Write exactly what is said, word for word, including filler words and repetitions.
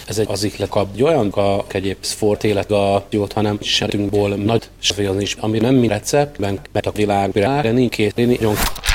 Ez egy az ihlet kap, olyan a egyéb sport élet a jót, hanem sertünkból nagy svézni is, ami nem mi receptben, mert a világ, de nincs két,